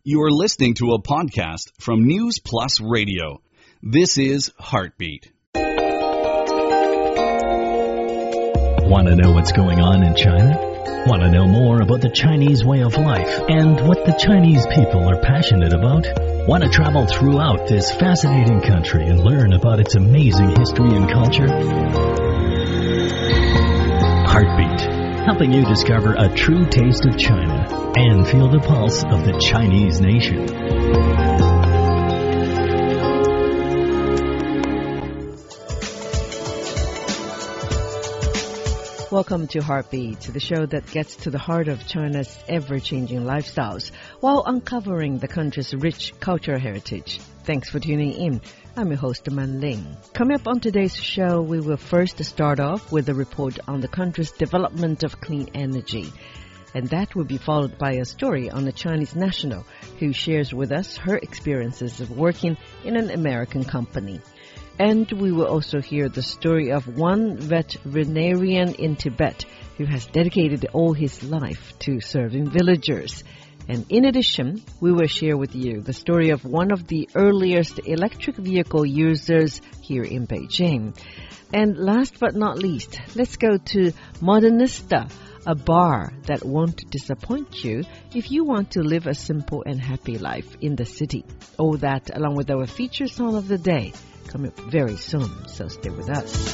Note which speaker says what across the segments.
Speaker 1: You are listening to a podcast from News Plus Radio. This is Heartbeat.
Speaker 2: Want to know what's going on in China? Want to know more about the Chinese way of life and what the Chinese people are passionate about? Want to travel throughout this fascinating country and learn about its amazing history and culture? Heartbeat, helping you discover a true taste of China and feel the pulse of the Chinese nation.
Speaker 3: Welcome to Heartbeat, the show that gets to the heart of China's ever-changing lifestyles while uncovering the country's rich cultural heritage. Thanks for tuning in. I'm your host, Man Ling. Coming up on today's show, we will first start off with a report on the country's development of clean energy. And that will be followed by a story on a Chinese national who shares with us her experiences of working in an American company. And we will also hear the story of one veterinarian in Tibet who has dedicated all his life to serving villagers. And in addition, we will share with you the story of one of the earliest electric vehicle users here in Beijing. And last but not least, let's go to Modernista, a bar that won't disappoint you if you want to live a simple and happy life in the city. All that along with our feature song of the day coming up very soon, so stay with us.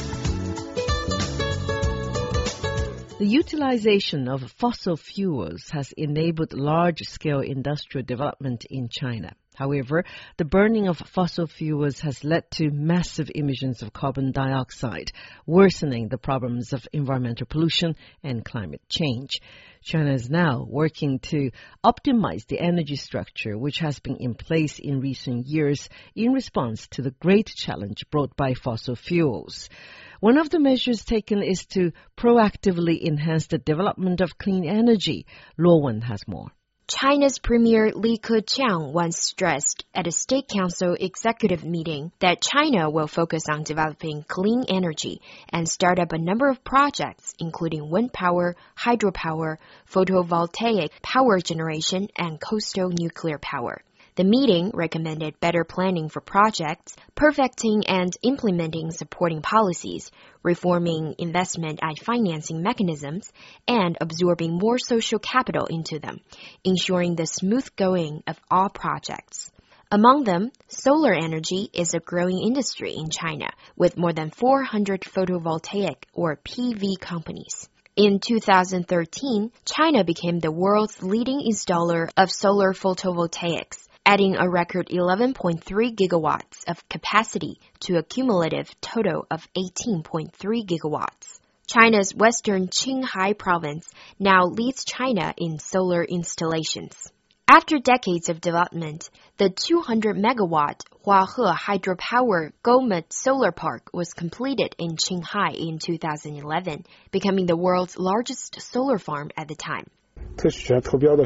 Speaker 3: The utilization of fossil fuels has enabled large-scale industrial development in China. However, the burning of fossil fuels has led to massive emissions of carbon dioxide, worsening the problems of environmental pollution and climate change. China is now working to optimize the energy structure which has been in place in recent years in response to the great challenge brought by fossil fuels. One of the measures taken is to proactively enhance the development of clean energy. Luo Wen has more.
Speaker 4: China's Premier Li Keqiang once stressed at a State Council executive meeting that China will focus on developing clean energy and start up a number of projects, including wind power, hydropower, photovoltaic power generation, and coastal nuclear power. The meeting recommended better planning for projects, perfecting and implementing supporting policies, reforming investment and financing mechanisms, and absorbing more social capital into them, ensuring the smooth going of all projects. Among them, solar energy is a growing industry in China, with more than 400 photovoltaic or PV companies. In 2013, China became the world's leading installer of solar photovoltaics, adding a record 11.3 gigawatts of capacity to a cumulative total of 18.3 gigawatts. China's western Qinghai province now leads China in solar installations. After decades of development, the 200-megawatt Huahe hydropower Gomut solar park was completed in Qinghai in 2011, becoming the world's largest solar farm at the time.
Speaker 5: China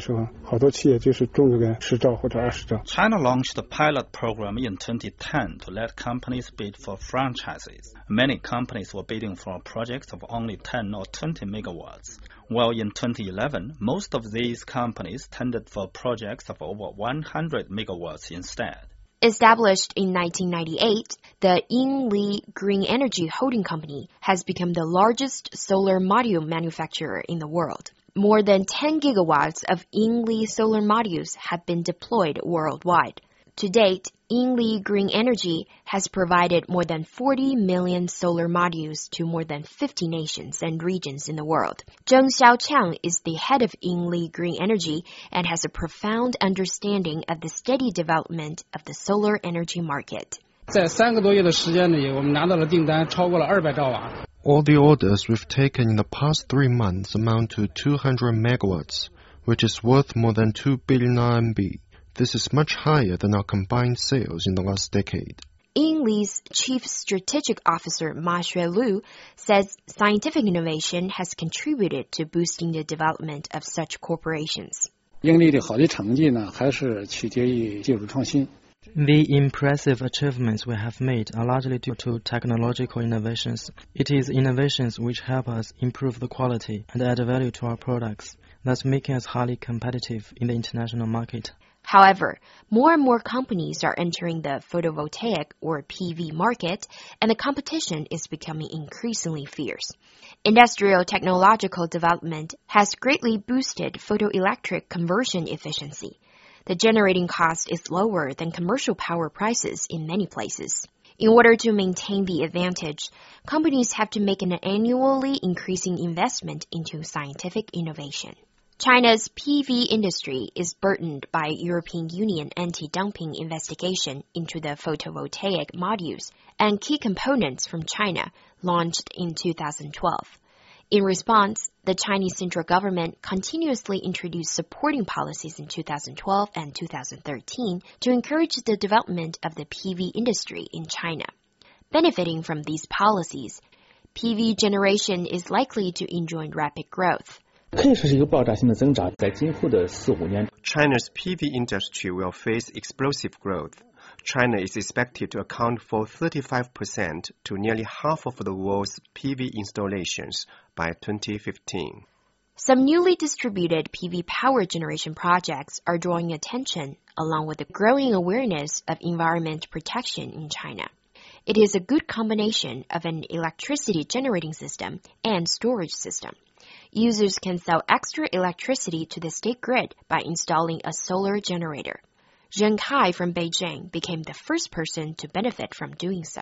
Speaker 6: launched a pilot program in 2010 to let companies bid for franchises. Many companies were bidding for projects of only 10 or 20 megawatts, while in 2011, most of these companies tendered for projects of over 100 megawatts instead.
Speaker 4: Established in 1998, the Yingli Green Energy Holding Company has become the largest solar module manufacturer in the world. More than 10 gigawatts of Yingli solar modules have been deployed worldwide. To date, Yingli Green Energy has provided more than 40 million solar modules to more than 50 nations and regions in the world. Zheng Xiaoqiang is the head of Yingli Green Energy and has a profound understanding of the steady development of the solar energy market.
Speaker 7: All the orders we've taken in the past 3 months amount to 200 megawatts, which is worth more than 2 billion RMB. This is much higher than our combined sales in the last decade.
Speaker 4: Yingli's Chief Strategic Officer Ma Xuelu says scientific innovation has contributed to boosting the development of such corporations.
Speaker 8: The impressive achievements we have made are largely due to technological innovations. It is innovations which help us improve the quality and add value to our products, thus making us highly competitive in the international market.
Speaker 4: However, more and more companies are entering the photovoltaic or PV market, and the competition is becoming increasingly fierce. Industrial technological development has greatly boosted photoelectric conversion efficiency. The generating cost is lower than commercial power prices in many places. In order to maintain the advantage, companies have to make an annually increasing investment into scientific innovation. China's PV industry is burdened by European Union anti-dumping investigation into the photovoltaic modules and key components from China launched in 2012. In response, the Chinese central government continuously introduced supporting policies in 2012 and 2013 to encourage the development of the PV industry in China. Benefiting from these policies, PV generation is likely to enjoy rapid growth.
Speaker 5: China's
Speaker 9: PV industry will face explosive growth. China is expected to account for 35% to nearly half of the world's PV installations by 2015.
Speaker 4: Some newly distributed PV power generation projects are drawing attention, along with the growing awareness of environment protection in China. It is a good combination of an electricity generating system and storage system. Users can sell extra electricity to the state grid by installing a solar generator. Zheng Kai from Beijing became the first person to benefit from doing so.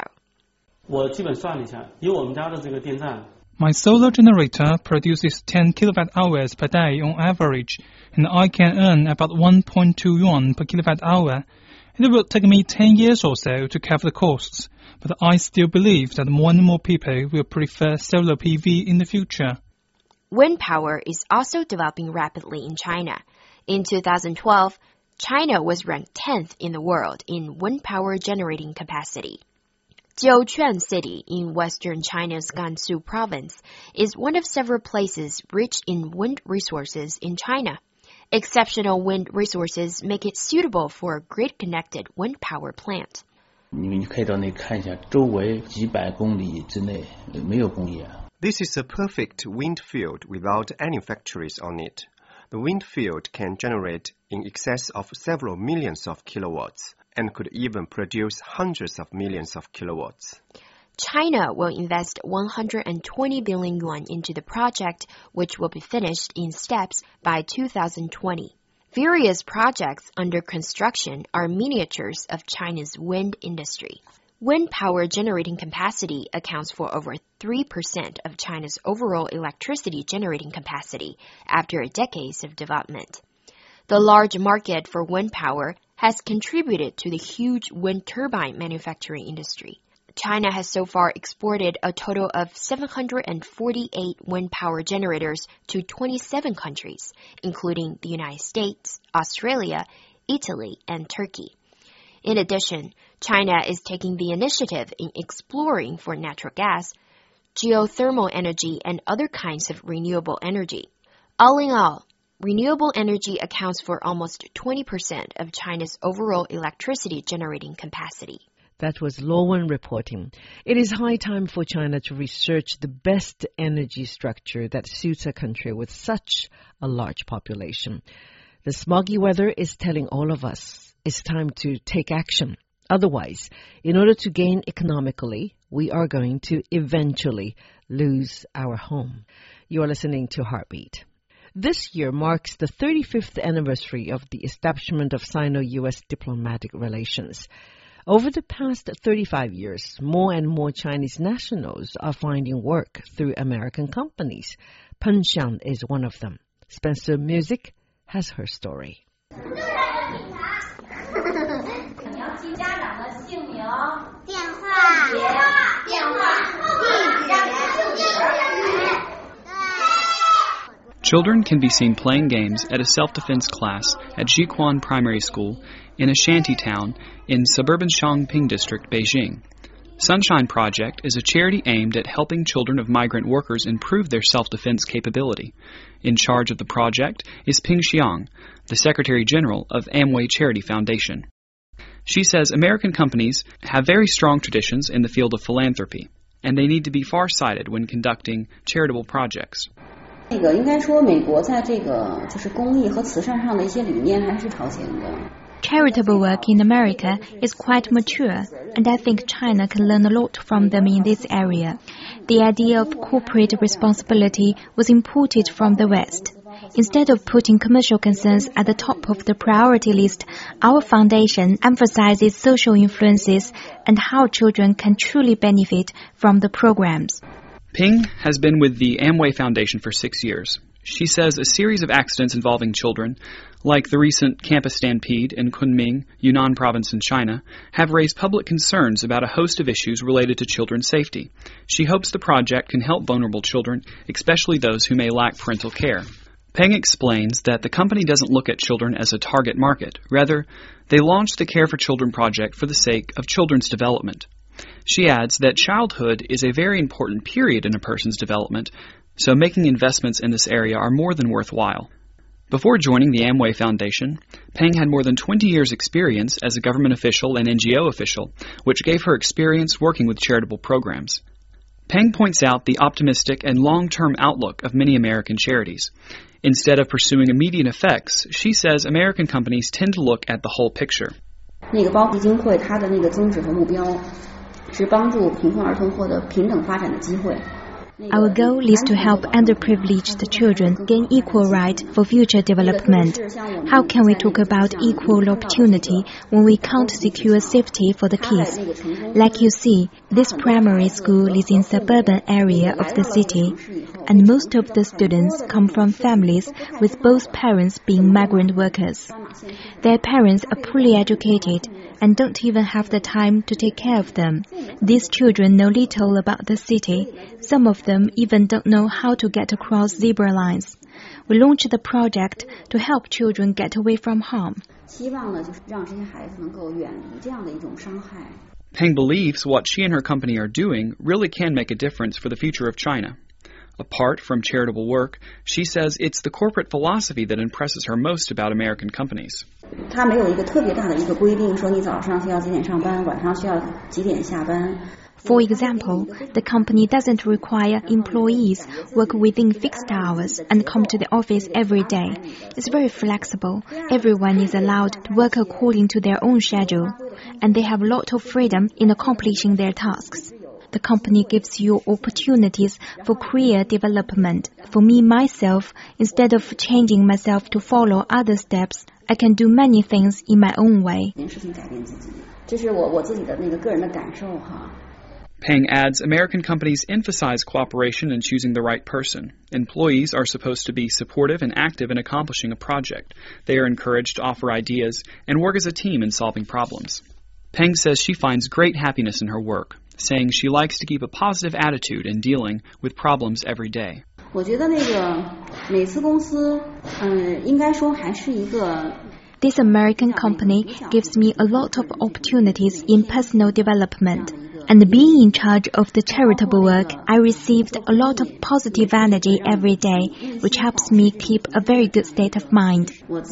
Speaker 10: My solar generator produces 10 kilowatt hours per day on average, and I can earn about 1.2 yuan per kilowatt hour. It will take me 10 years or so to cover the costs, but I still believe that more and more people will prefer solar PV in the future.
Speaker 4: Wind power is also developing rapidly in China. In 2012, China was ranked 10th in the world in wind power generating capacity. Jiuquan City in western China's Gansu province is one of several places rich in wind resources in China. Exceptional wind resources make it suitable for a grid-connected wind power plant.
Speaker 9: This is a perfect wind field without any factories on it. The wind field can generate in excess of several millions of kilowatts and could even produce hundreds of millions of kilowatts.
Speaker 4: China will invest 120 billion yuan into the project, which will be finished in steps by 2020. Various projects under construction are miniatures of China's wind industry. Wind power generating capacity accounts for over 3% of China's overall electricity generating capacity after decades of development. The large market for wind power has contributed to the huge wind turbine manufacturing industry. China has so far exported a total of 748 wind power generators to 27 countries, including the United States, Australia, Italy, and Turkey. In addition, China is taking the initiative in exploring for natural gas, geothermal energy, and other kinds of renewable energy. All in all, renewable energy accounts for almost 20% of China's overall electricity generating capacity.
Speaker 3: That was Lowen reporting. It is high time for China to research the best energy structure that suits a country with such a large population. The smoggy weather is telling all of us it's time to take action. Otherwise, in order to gain economically, we are going to eventually lose our home. You are listening to Heartbeat. This year marks the 35th anniversary of the establishment of Sino-U.S. diplomatic relations. Over the past 35 years, more and more Chinese nationals are finding work through American companies. Peng Xiang is one of them. Spencer Music has her story.
Speaker 11: Children can be seen playing games at a self-defense class at Jiquan Primary School in a shanty town in suburban Xiangping District, Beijing. Sunshine Project is a charity aimed at helping children of migrant workers improve their self-defense capability. In charge of the project is Ping Xiang, the Secretary General of Amway Charity Foundation. She says American companies have very strong traditions in the field of philanthropy, and they need to be far-sighted when conducting charitable projects.
Speaker 5: 那个应该说，美国在这个就是公益和慈善上的一些理念还是超前的。
Speaker 12: Charitable work in America is quite mature, and I think China can learn a lot from them in this area. The idea of corporate responsibility was imported from the West. Instead of putting commercial concerns at the top of the priority list, our foundation emphasizes social influences and how children can truly benefit from the programs.
Speaker 11: Ping has been with the Amway Foundation for 6 years. She says a series of accidents involving children, like the recent campus stampede in Kunming, Yunnan province in China, have raised public concerns about a host of issues related to children's safety. She hopes the project can help vulnerable children, especially those who may lack parental care. Peng explains that the company doesn't look at children as a target market. Rather, they launched the Care for Children project for the sake of children's development. She adds that childhood is a very important period in a person's development, so making investments in this area are more than worthwhile. Before joining the Amway Foundation, Peng had more than 20 years' experience as a government official and NGO official, which gave her experience working with charitable programs. Peng points out the optimistic and long-term outlook of many American charities. Instead of pursuing immediate effects, she says American companies tend to look at the whole picture.
Speaker 5: 那个包基金会它的那个宗旨和目标是帮助贫困儿童获得平等发展的机会。
Speaker 12: Our goal is to help underprivileged children gain equal right for future development. How can we talk about equal opportunity when we can't secure safety for the kids? Like you see, this primary school is in suburban area of the city, and most of the students come from families with both parents being migrant workers. Their parents are poorly educated and don't even have the time to take care of them. These children know little about the city. Some of them even don't know how to get across zebra lines. We launched the project to help children get away from harm.
Speaker 11: Peng believes what she and her company are doing really can make a difference for the future of China. Apart from charitable work, she says it's the corporate philosophy that impresses her most about American companies.
Speaker 5: 它没有一个特别大的一个规定，说你早上需要几点上班，晚上需要几点下班。
Speaker 12: For example, the company doesn't require employees work within fixed hours and come to the office every day. It's very flexible. Everyone is allowed to work according to their own schedule, and they have a lot of freedom in accomplishing their tasks. The company gives you opportunities for career development. For me, myself, instead of changing myself to follow other steps, I can do many things in my own way.
Speaker 11: Peng adds American companies emphasize cooperation in choosing the right person. Employees are supposed to be supportive and active in accomplishing a project. They are encouraged to offer ideas and work as a team in solving problems. Peng says she finds great happiness in her work, saying she likes to keep a positive attitude in dealing with problems every day.
Speaker 5: 我觉得那个美资公司，应该说还是一个。
Speaker 12: This American company gives me a lot of opportunities in personal development. And being in charge of the charitable work, I received a lot of positive energy every day, which helps me keep a very good state of mind.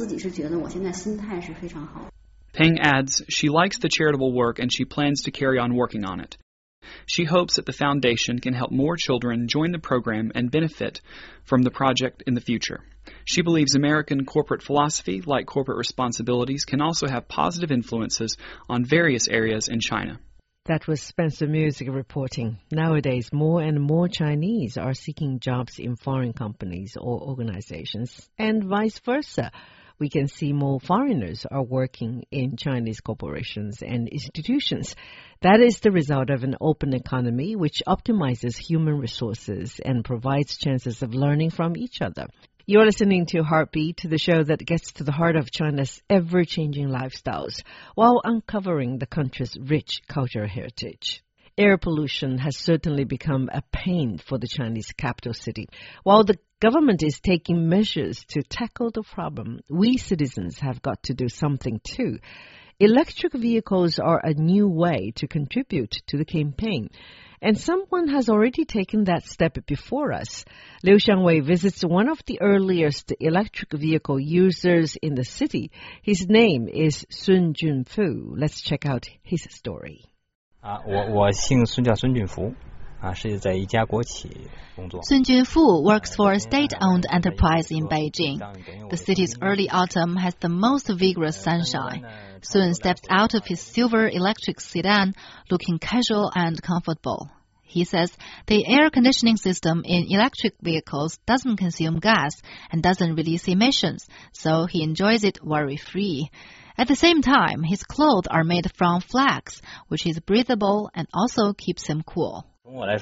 Speaker 11: Peng adds she likes the charitable work and she plans to carry on working on it. She hopes that the foundation can help more children join the program and benefit from the project in the future. She believes American corporate philosophy, like corporate responsibilities, can also have positive influences on various areas in China.
Speaker 3: That was Spencer Music reporting. Nowadays, more and more Chinese are seeking jobs in foreign companies or organizations, and vice versa. We can see more foreigners are working in Chinese corporations and institutions. That is the result of an open economy which optimizes human resources and provides chances of learning from each other. You're listening to Heartbeat, the show that gets to the heart of China's ever-changing lifestyles while uncovering the country's rich cultural heritage. Air pollution has certainly become a pain for the Chinese capital city. While the government is taking measures to tackle the problem, we citizens have got to do something too. Electric vehicles are a new way to contribute to the campaign. And someone has already taken that step before us. Liu Xiangwei visits one of the earliest electric vehicle users in the city. His name is Sun Junfu. Let's check out his story.
Speaker 13: 我姓孙，叫孙俊福。 Sun Junfu works for a state-owned enterprise in Beijing. The city's early autumn has the most vigorous sunshine. Sun steps out of his silver electric sedan, looking casual and comfortable. He says the air conditioning system in electric vehicles doesn't consume gas and doesn't release emissions, so he enjoys it worry-free. At the same time, his clothes are made from flax, which is breathable and also keeps him cool.
Speaker 14: I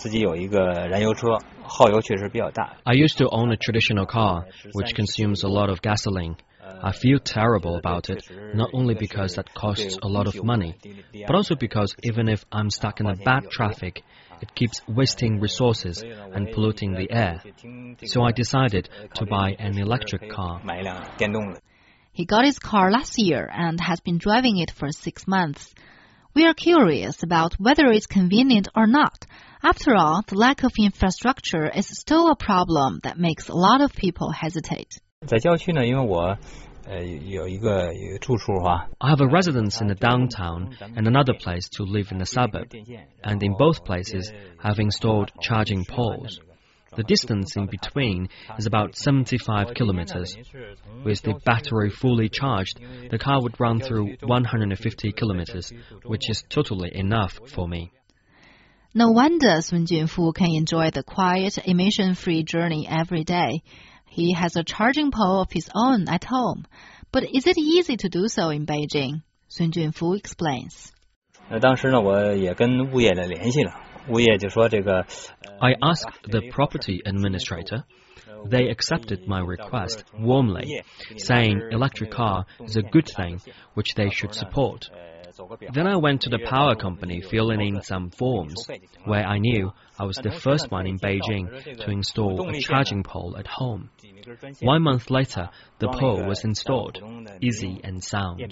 Speaker 14: used to own a traditional car, which consumes a lot of gasoline. I feel terrible about it, not only because that costs a lot of money, but also because even if I'm stuck in a bad traffic, it keeps wasting resources and polluting the air. So I decided to buy an electric car.
Speaker 13: He got his car last year and has been driving it for 6 months. We are curious about whether it's convenient or not. After all, the lack of infrastructure is still a problem that makes a lot of people hesitate.
Speaker 14: I have a residence in the downtown and another place to live in the suburb, and in both places I've installed charging poles. The distance in between is about 75 kilometers. With the battery fully charged, the car would run through 150 kilometers, which is totally enough for me.
Speaker 13: No wonder Sun Junfu can enjoy the quiet, emission-free journey every day. He has a charging pole of his own at home. But is it easy to do so in Beijing? Sun Junfu explains.
Speaker 14: I asked the property administrator. They accepted my request warmly, saying electric car is a good thing which they should support. Then I went to the power company filling in some forms, where I knew I was the first one in Beijing to install a charging pole at home. 1 month later, the pole was installed, easy and sound.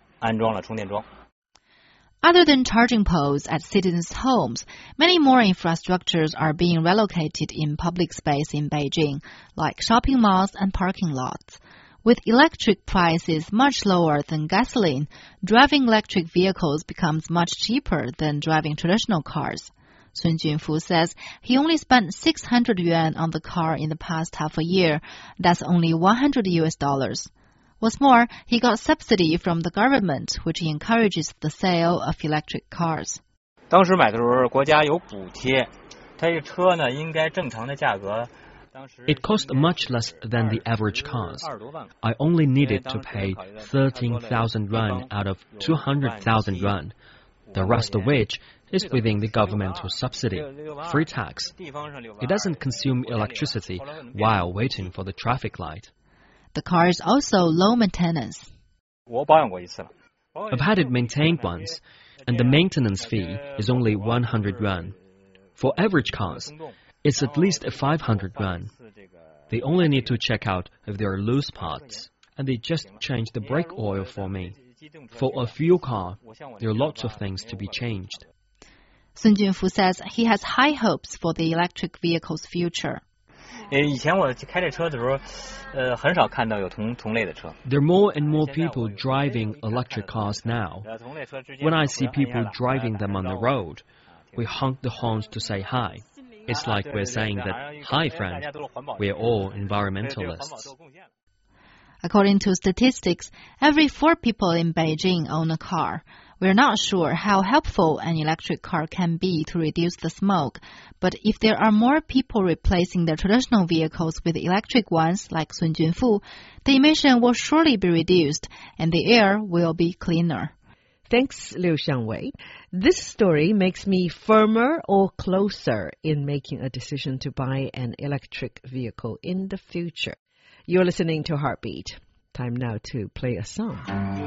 Speaker 13: Other than charging poles at citizens' homes, many more infrastructures are being relocated in public space in Beijing, like shopping malls and parking lots. With electric prices much lower than gasoline, driving electric vehicles becomes much cheaper than driving traditional cars. Sun Junfu says he only spent 600 yuan on the car in the past half a year. That's only $100. What's more, he got subsidy from the government, which encourages the sale of electric cars.
Speaker 14: It cost much less than the average cars. I only needed to pay 13,000 yuan out of 200,000 yuan, the rest of which is within the governmental subsidy, free tax. It doesn't consume electricity while waiting for the traffic light.
Speaker 13: The car is also low maintenance.
Speaker 14: I've had it maintained once, and the maintenance fee is only 100 yuan. For average cars, it's at least 500 yuan. They only need to check out if there are loose parts, and they just change the brake oil for me. For a fuel car, there are lots of things to be changed.
Speaker 13: Sun Junfu says he has high hopes for the electric vehicle's future.
Speaker 14: There are more and more people driving electric cars now. When I see people driving them on the road, we honk the horns to say hi. It's like we're saying that, hi friend, we're all environmentalists.
Speaker 13: According to statistics, every 4 people in Beijing own a car. We're not sure how helpful an electric car can be to reduce the smoke, but if there are more people replacing their traditional vehicles with electric ones, like Sun Junfu, the emission will surely be reduced and the air will be cleaner.
Speaker 3: Thanks, Liu Xiangwei. This story makes me firmer or closer in making a decision to buy an electric vehicle in the future. You're listening to Heartbeat. Time now to play a song.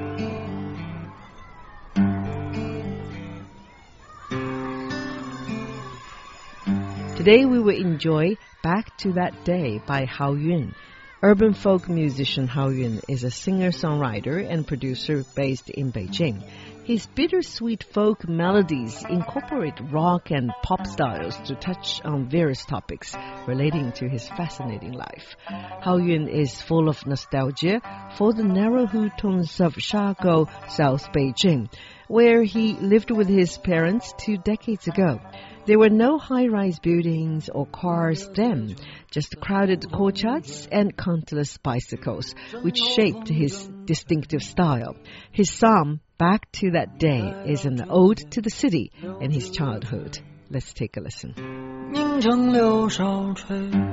Speaker 3: Today we will enjoy Back to That Day by Hao Yun. Urban folk musician Hao Yun is a singer-songwriter and producer based in Beijing. His bittersweet folk melodies incorporate rock and pop styles to touch on various topics relating to his fascinating life. Hao Yun is full of nostalgia for the narrow hutons of Shagou, South Beijing, where he lived with his parents 2 decades ago. There were no high-rise buildings or cars then, just crowded courtyards and countless bicycles, which shaped his distinctive style. His psalm, Back to That Day, is an ode to the city and his childhood. Let's take a listen.
Speaker 15: 凝成柳梢吹，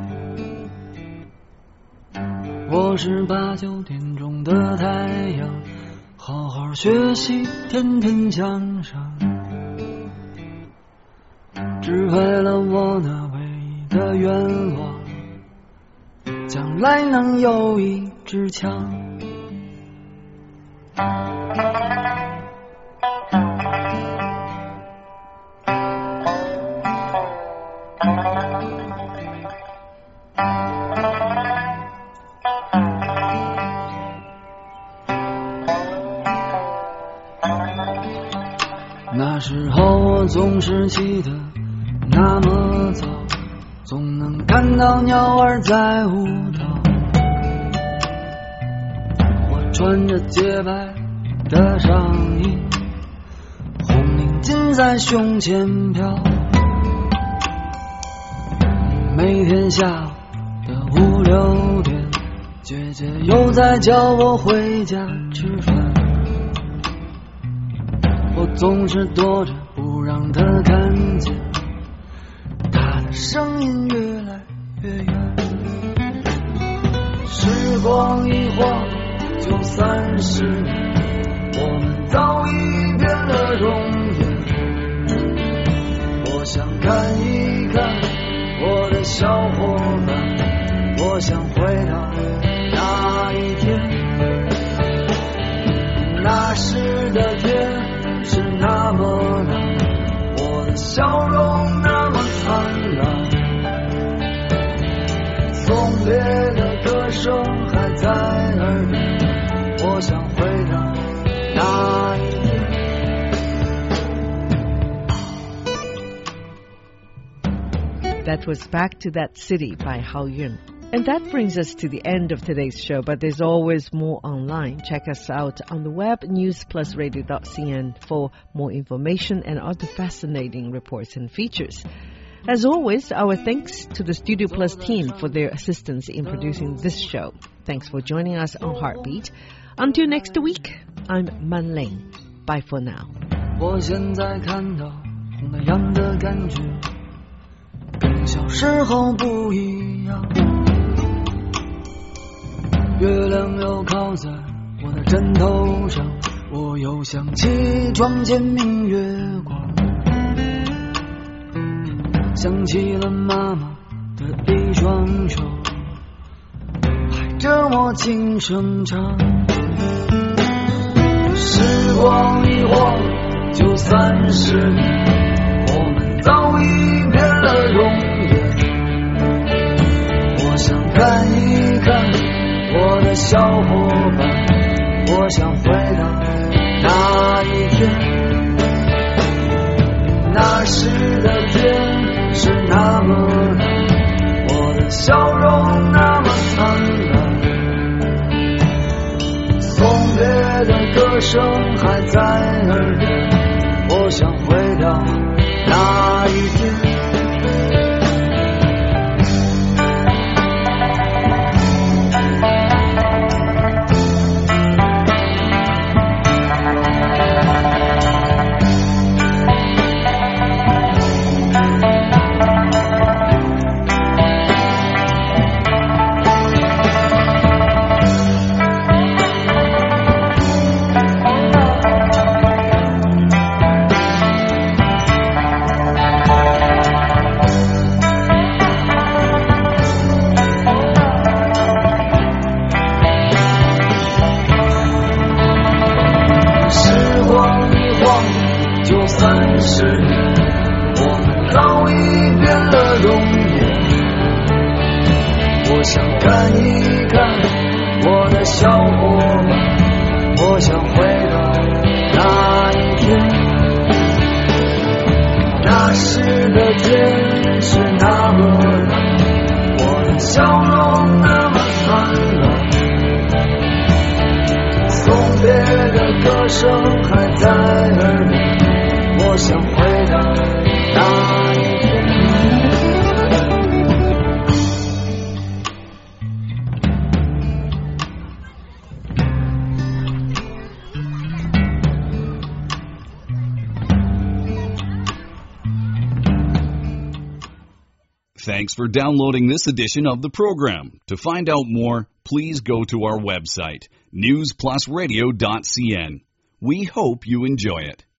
Speaker 15: 我是8、9点钟的太阳，好好学习，天天向上，只为了我那唯一的愿望，将来能有一支枪。那时候我总是起得那么早，总能看到鸟儿在舞蹈。我穿着洁白的上衣，红领巾在胸前飘。每天下午的5、6点，姐姐又在叫我回家吃饭。我总是躲着不让她看见，她的声音越来越远。时光一晃就30年，我们早已变了容颜。我想看一看我的小伙伴，我想回到那一天，那时的天是那么蓝，我的笑容那么灿烂，送别的歌声还在耳边，我想回到那一天。
Speaker 3: That was Back to That City by Hao Yun. And that brings us to the end of today's show, but there's always more online. Check us out on the web, newsplusradio.cn, for more information and other fascinating reports and features. As always, our thanks to the Studio Plus team for their assistance in producing this show. Thanks for joining us on Heartbeat. Until next week, I'm Man Ling. Bye for now.
Speaker 15: 我现在看到那样的感觉跟小时候不一样，月亮又靠在我的枕头上，我又想起床前明月光，想起了妈妈的一双手拍着我轻声唱。时光一晃就30年，我们早已变了容颜。我想看一看我的小伙伴，我想回到那一天，那时的天是那么蓝，我的笑容那么灿烂，送别的歌声还在耳边，我想回到那一天。想看一看我的小伙伴，我想回到那一天，那时的天是那么蓝，我的笑容那么灿烂，送别的歌声还在耳边，我想回到那一天。
Speaker 1: Thanks for downloading this edition of the program. To find out more, please go to our website, newsplusradio.cn. We hope you enjoy it.